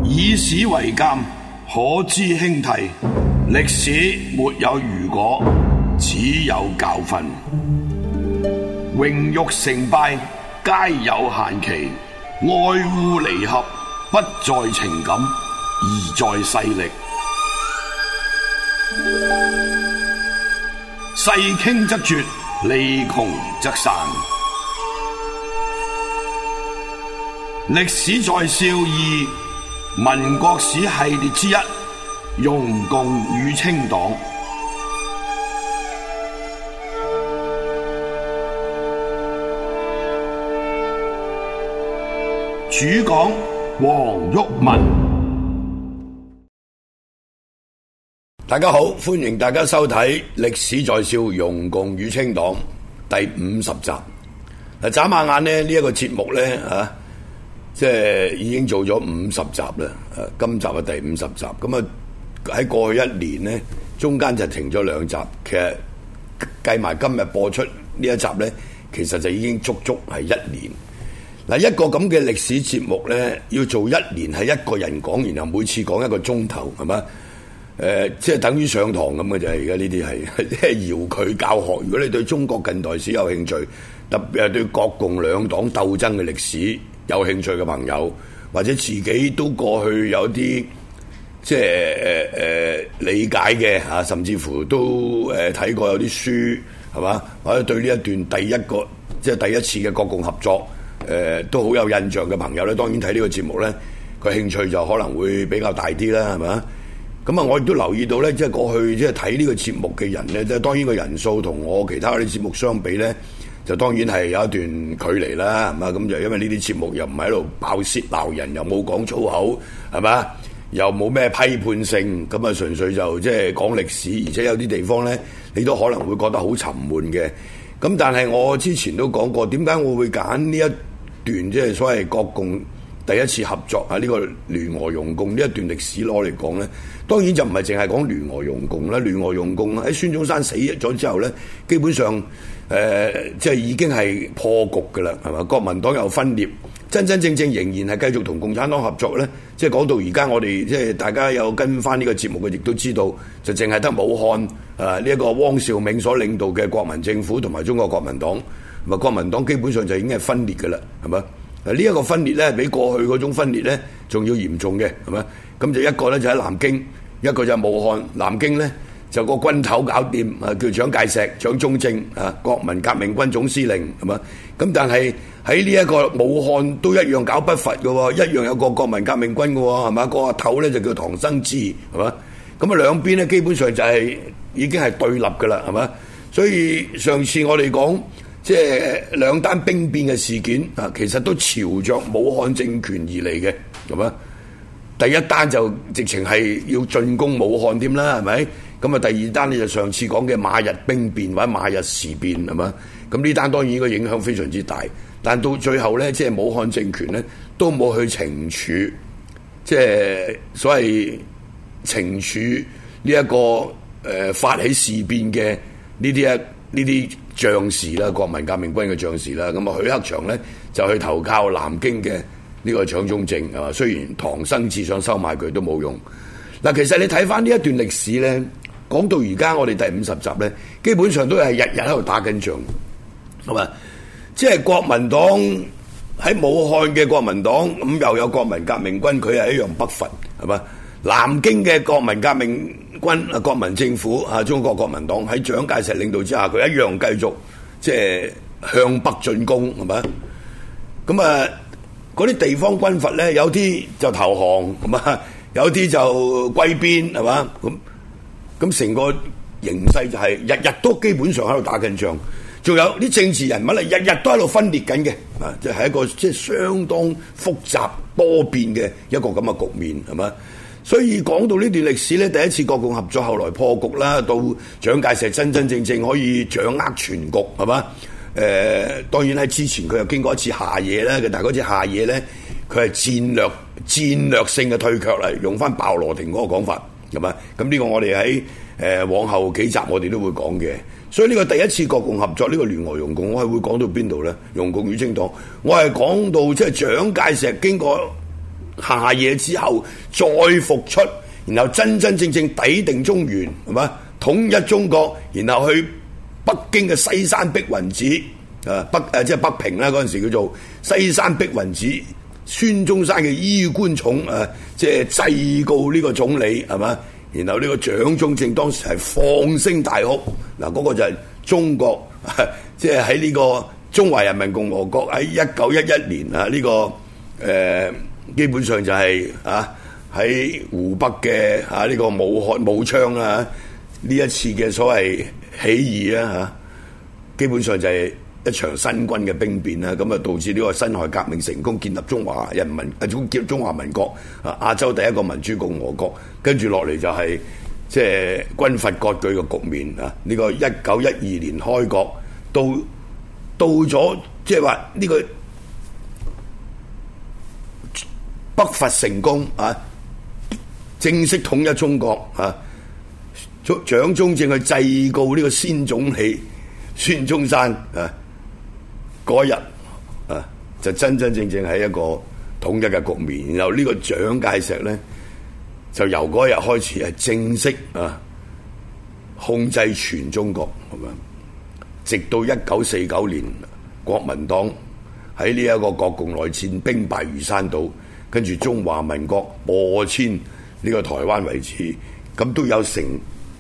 以史為鑑，可知興替。歷史沒有如果，只有教訓。榮辱成敗皆有限期，愛惡離合不在情感，而在勢力。勢傾則絕，利窮則散。歷史在笑二，民國史系列之一，容共與清黨。主講黃毓民。大家好，歡迎大家收睇《歷史在笑容共與清黨》第50集。嗱，眨下眼呢，呢一個節目呢，即係已經做咗50集啦。今集係第50集。咁啊喺過去一年呢，中間就停咗2集。其實計埋今日播出呢一集呢，其實就已經足足係1年。嗱，一個咁嘅歷史節目咧，要做1年係一個人講，然後每次講1個鐘頭，係嘛？即係等於上堂咁嘅啫。而家呢啲係即係遙距教學。如果你對中國近代史有興趣，特別係對國共兩黨鬥爭嘅歷史有興趣嘅朋友，或者自己都過去有啲即係理解嘅嚇，甚至乎都睇過有啲書係嘛？或者對呢一段第一次嘅國共合作。都好有印象嘅朋友咧，當然睇呢個節目咧，佢興趣就可能會比較大啲啦，係咪？咁啊，我亦都留意到咧，即係過去即係睇呢個節目嘅人咧，即係當然個人數同我其他嗰啲節目相比咧，就當然係有一段距離啦，係嘛？咁就因為呢啲節目又唔係喺度爆舌鬧人，又冇講粗口，係嘛？又冇咩批判性，咁啊純粹就即係講歷史，而且有啲地方咧，你都可能會覺得好沉悶嘅。咁但係我之前都講過，點解我會揀呢一段即係所謂國共第一次合作啊，呢個聯俄容共呢一段歷史攞嚟講咧，當然就唔係淨係講聯俄容共啦。聯俄容共喺孫中山死咗之後咧，基本上即係已經係破局㗎啦，係嘛？國民黨又分裂，真真正正仍然係繼續同共產黨合作咧。即係講到而家，我哋即係大家有跟翻呢個節目嘅，亦都知道就淨係得武漢呢一個汪兆銘所領導嘅國民政府同埋中國國民黨。咁國民黨基本上就已經係分裂嘅啦，係咪？呢一個分裂咧，比過去嗰種分裂咧仲要嚴重嘅，係咪？咁就一個咧就喺南京，一個就係武漢。南京咧就個軍頭搞掂，叫蔣介石、蔣中正國民革命軍總司令，係咪？咁但係喺呢一個武漢都一樣搞不伐嘅喎，一樣有個國民革命軍嘅喎，係嘛？個頭咧就叫唐生智，係嘛？咁啊兩邊咧基本上就係已經係對立嘅啦，係嘛？所以上次我哋講即係兩單兵變嘅事件啊，其實都朝着武漢政權而嚟嘅，係嘛？第一單就直情係要進攻武漢添啦，係咪？咁啊，第二單呢就上次講嘅馬日兵變或者馬日事變，係嘛？咁呢單當然個影響非常之大，但到最後咧，即係武漢政權咧都冇去懲處，即係所謂懲處呢一個發起事變嘅呢啲將士啦，國民革命軍嘅將士啦。咁啊，許克祥咧就去投靠南京嘅呢個蔣中正，係嘛？雖然唐生智想收買佢都冇用。嗱，其實你睇翻呢一段歷史咧，講到而家我哋第50集咧，基本上都係日日喺度打緊仗，係嘛？即係國民黨喺武漢嘅國民黨，咁又有國民革命軍，佢係一樣不伐，係嘛？南京嘅國民革命軍啊，國民政府啊，中國國民黨喺蔣介石領導之下，佢一樣繼續即係向北進攻，係咪？咁啊，嗰啲地方軍閥咧，有啲就投降，係嘛？有啲就歸邊，係嘛？咁成個形勢就係日日都基本上喺度打緊仗，仲有啲政治人物咧，日日都喺度分裂緊嘅，啊，即係一個即係相當複雜多變嘅一個咁嘅局面，係嘛？所以講到呢段歷史咧，第一次國共合作後來破局啦，到蔣介石真真正正可以掌握全局，係嘛？當然喺之前佢又經過一次下野啦，但係嗰次下野咧，佢係戰略性嘅退卻嚟，用翻鮑羅廷嗰個講法，係嘛？咁呢個我哋喺往後幾集我哋都會講嘅。所以呢個第一次國共合作呢個聯俄容共，我係會講到邊度咧？容共與清黨，我係講到即係蔣介石經過下野之後再復出，然後真真正正抵定中原，係嘛？統一中國，然後去北京嘅西山碧雲寺，即係北平啦，嗰陣時叫做西山碧雲寺，孫中山嘅衣冠冢，即係祭告呢個總理，係嘛？然後呢個蔣中正當時係放聲大哭，嗱，嗰個就係中國，即係喺呢個中華人民共和國喺1911年啊，呢個基本上就係喺湖北嘅呢個武昌啊，呢一次嘅所謂起義啊，基本上就係一場新軍嘅兵變啦，咁啊導致呢個辛亥革命成功，建立中華民國亞洲第一個民主共和國，跟住落嚟就係即係軍閥割據嘅局面啊！呢個1912年開國，到咗即係話呢個北伐成功啊，正式統一中國啊，蔣中正去祭告呢個先總理孫中山啊。嗰日就真真正正係一個統一嘅局面，然後呢個蔣介石咧就由嗰日開始係正式控制全中國，係咪？直到1949年國民黨喺呢一個國共內戰兵敗如山倒，跟住中華民國播遷呢個台灣為止，咁都有成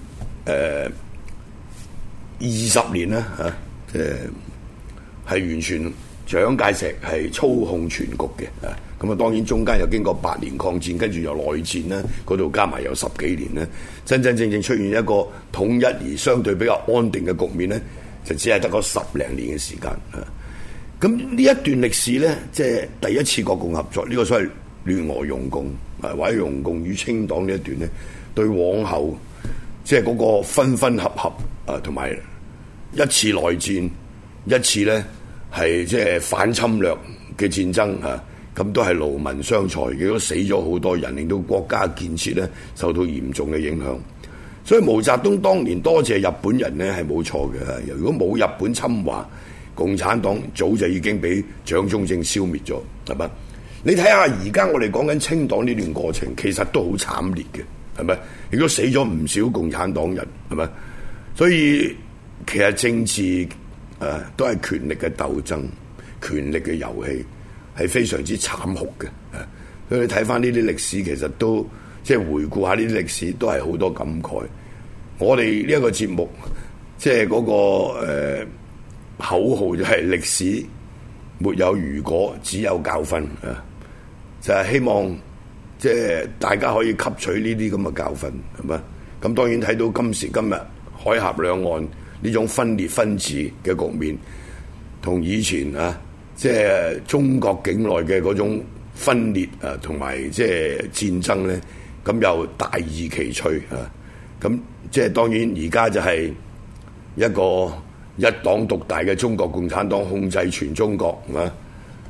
20年啦嚇，係完全蔣介石係操控全局嘅，咁啊當然中間又經過8年抗戰，跟住又內戰啦，嗰度加埋有10幾年啦，真真正正出現一個統一而相對比較安定嘅局面咧，就只係得個10零年嘅時間。咁呢一段歷史咧，即係第一次國共合作，呢個所謂聯俄容共或者容共與清黨呢一段咧，對往後即係嗰個分分合合同埋一次內戰，一次咧係即係反侵略嘅戰爭咁都係勞民傷財，亦都死咗好多人，令到國家建設咧受到嚴重嘅影響。所以毛澤東當年多謝日本人咧係冇錯嘅，如果冇日本侵華，共產黨早就已經俾蔣中正消滅咗，係咪？你睇下而家我哋講緊清黨呢段過程，其實都好慘烈嘅，係咪？亦都死咗唔少共產黨人，係咪？所以其實政治都係權力嘅鬥爭，權力嘅遊戲係非常之慘酷嘅。所以你睇翻呢啲歷史，其實都即係回顧下呢啲歷史，都係好多感慨。我哋呢一個節目，即係嗰個口號就係歷史沒有如果，只有教訓啊！就係希望即係大家可以吸取呢啲咁嘅教訓，係咪？咁當然睇到今時今日海峽兩岸呢種分裂分治嘅局面，同以前即係中國境內嘅嗰種分裂同埋即係戰爭咧，咁又大異其趣啊！咁即係當然而家就係一個一黨獨大嘅中國共產黨控制全中國，係嘛？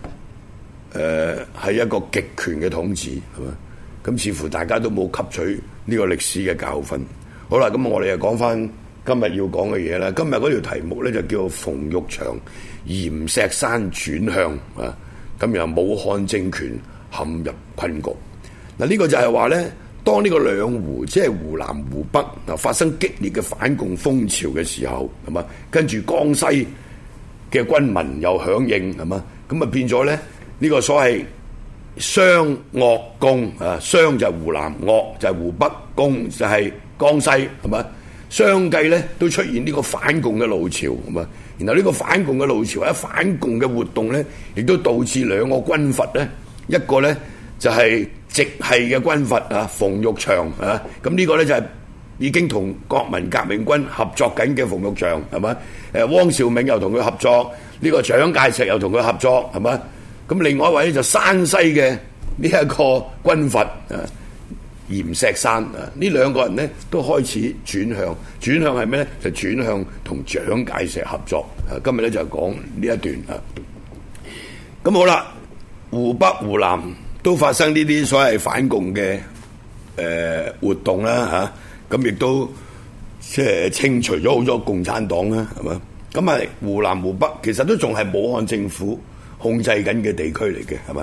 係一個極權嘅統治，係嘛？咁似乎大家都冇吸取呢個歷史嘅教訓。好啦，咁我哋又講翻今日要講嘅嘢啦。今日嗰條題目咧就叫馮玉祥閻錫山轉向啊！咁然後武漢政權陷入困局。嗱，呢個就係話咧，當呢個兩湖即係湖南湖北發生激烈嘅反共風潮嘅時候，係嘛？跟住江西嘅軍民又響應，係嘛？咁啊變咗咧呢個所謂湘鄂共湘就係湖南，鄂就係湖北，共就係江西，係嘛？相繼咧都出現呢個反共嘅浪潮，係嘛？然後呢個反共嘅浪潮或者反共嘅活動咧，亦都導致兩個軍閥咧，一個咧就係直系嘅軍閥馮玉祥咁呢個咧就係已經同國民革命軍合作緊嘅馮玉祥，係嘛？汪兆銘又同佢合作，呢個蔣介石又同佢合作，係嘛？咁另外一位咧就山西嘅呢一個軍閥閻錫山呢兩個人咧都開始轉向係咩咧？就轉向同蔣介石合作。今日咧就講呢一段咁好啦，湖北、湖南都發生呢啲所謂反共嘅活動啦咁亦都即係清除咗好多共產黨啦，係嘛？咁係湖南、湖北其實都仲係武漢政府控制緊嘅地區嚟嘅，係嘛？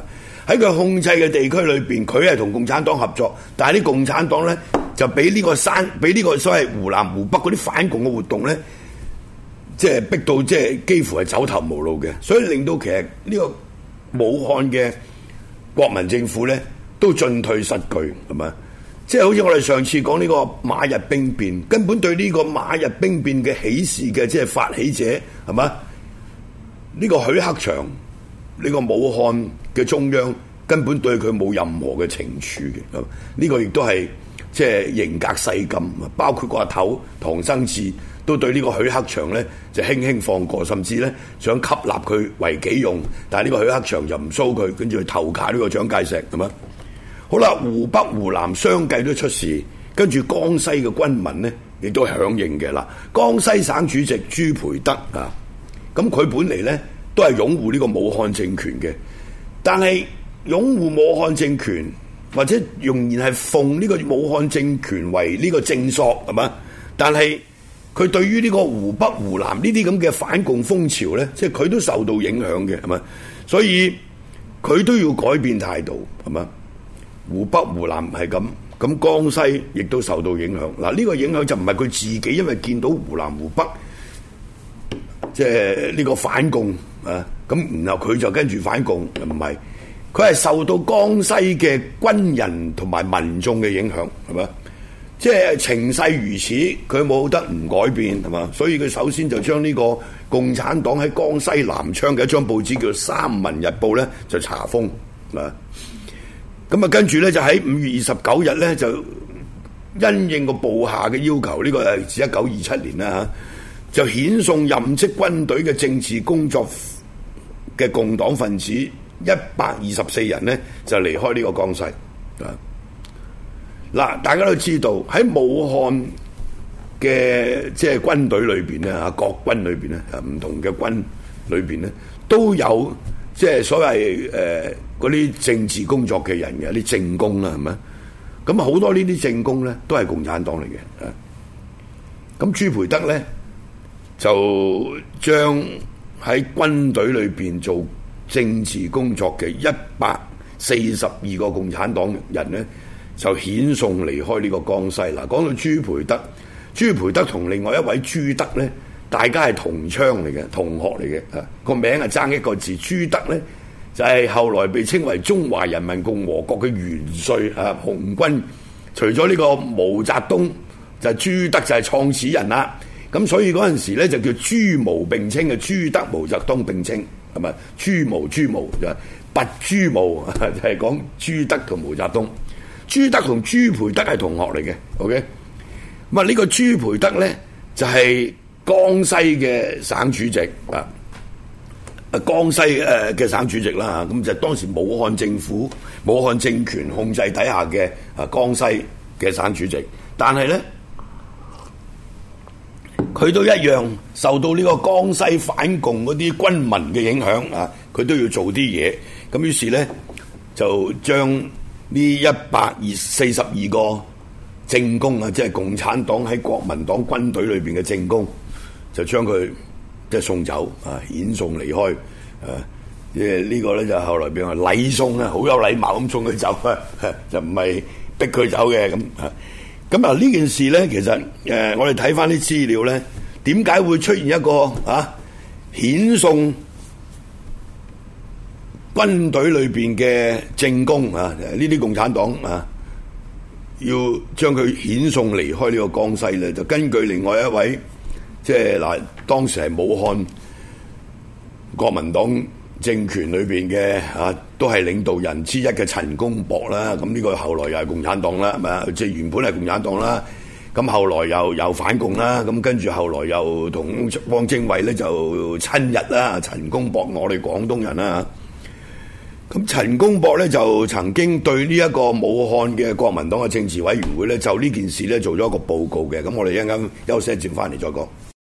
喺佢控制嘅地區裏邊，佢係同共產黨合作，但係啲共產黨咧就俾呢個所謂湖南湖北嗰啲反共嘅活動咧，即係逼到即係幾乎係走投無路嘅，所以令到其實呢個武漢嘅國民政府咧都進退失據，係咪？即係好似我哋上次講呢個馬日兵變，根本對呢個馬日兵變嘅起事嘅即係發起者，係嘛？呢個許克祥，呢個武漢嘅中央根本對佢冇任何嘅懲處嘅，呢個亦都係即係刑革細禁，包括個阿頭唐生智都對呢個許克祥咧就輕輕放過，甚至咧想吸納佢為己用，但係呢個許克祥就唔蘇佢，跟住去投靠呢個蔣介石，係嘛？好啦，湖北湖南相繼都出事，跟住江西嘅軍民咧亦都響應嘅啦。江西省主席朱培德啊，咁佢本嚟咧都係擁護呢個武漢政權嘅，但係擁護武漢政權或者仍然係奉呢個武漢政權為呢個正朔，係嘛？但係佢對於呢個湖北湖南呢啲咁嘅反共風潮咧，即係佢都受到影響嘅，係嘛？所以佢都要改變態度，係嘛？湖北湖南係咁，咁江西亦都受到影響。嗱，呢個影響就唔係佢自己，因為見到湖南湖北即係呢個反共啊，咁然後佢就跟住反共，唔係，佢係受到江西嘅軍人同埋民眾嘅影響，係嘛？即係情勢如此，佢冇得唔改變，係嘛？所以佢首先就將呢個共產黨喺江西南昌嘅一張報紙叫做《三民日報》咧，就查封啊。咁啊，跟住咧就喺5月29日咧，就因應個部下嘅要求，呢個係自1927年啦嚇，就遣送任職軍隊嘅政治工作嘅共黨分子124人咧，就離開呢個江西啊。嗱，大家都知道喺武漢嘅即係軍隊裏邊咧嚇，國軍裏邊咧唔同嘅軍裏邊咧都有即係所謂嗰啲政治工作嘅人嘅啲政工啦，係咪？咁好多呢啲政工咧都係共產黨嚟嘅。咁朱培德咧就將喺軍隊裏邊做政治工作嘅142個共產黨人咧，就遣送離開呢個江西。嗱，講到朱培德同另外一位朱德咧，大家係同窗嚟嘅，同學嚟嘅，個名係爭一個字。朱德咧就係後來被稱為中華人民共和國嘅元帥啊，紅軍。除咗呢個毛澤東，就係朱德就係創始人啦。咁所以嗰陣時咧就叫朱毛並稱嘅，朱德毛澤東並稱，係咪？朱毛就係拔朱毛，就係講朱德同毛澤東。朱德同朱培德係同學嚟嘅 ，OK。咁啊呢個朱培德咧就係江西嘅省主席啊。江西嘅省主席啦，咁就當時武漢政府、武漢政權控制底下嘅江西嘅省主席，但係咧佢都一樣受到呢個江西反共嗰啲軍民嘅影響啊，佢都要做啲嘢，咁於是咧就將呢142個政工啊，即係共產黨喺國民黨軍隊裏邊嘅政工，就將佢即係送走啊，遣送離開啊！即係呢個咧就後來變為禮送啦，好有禮貌咁送佢走啊，就唔係逼佢走嘅咁啊。咁啊呢件事咧，其實我哋睇翻啲資料咧，點解會出現一個遣送軍隊裏邊嘅政工啊？呢啲共產黨啊，要將佢遣送離開呢個江西咧，就根據另外一位。即係嗱，當時係武漢國民黨政權裏邊嘅都係領導人之一嘅陳公博啦。咁呢個後來又係共產黨啦，係咪啊？即係原本係共產黨啦，咁後來又反共啦，咁跟住後來又同汪精衛咧就親日啦。陳公博我哋廣東人啦，咁陳公博咧就曾經對呢一個武漢嘅國民黨嘅政治委員會咧就呢件事咧做咗一個報告嘅。咁我哋一陣間休息一陣翻嚟再講。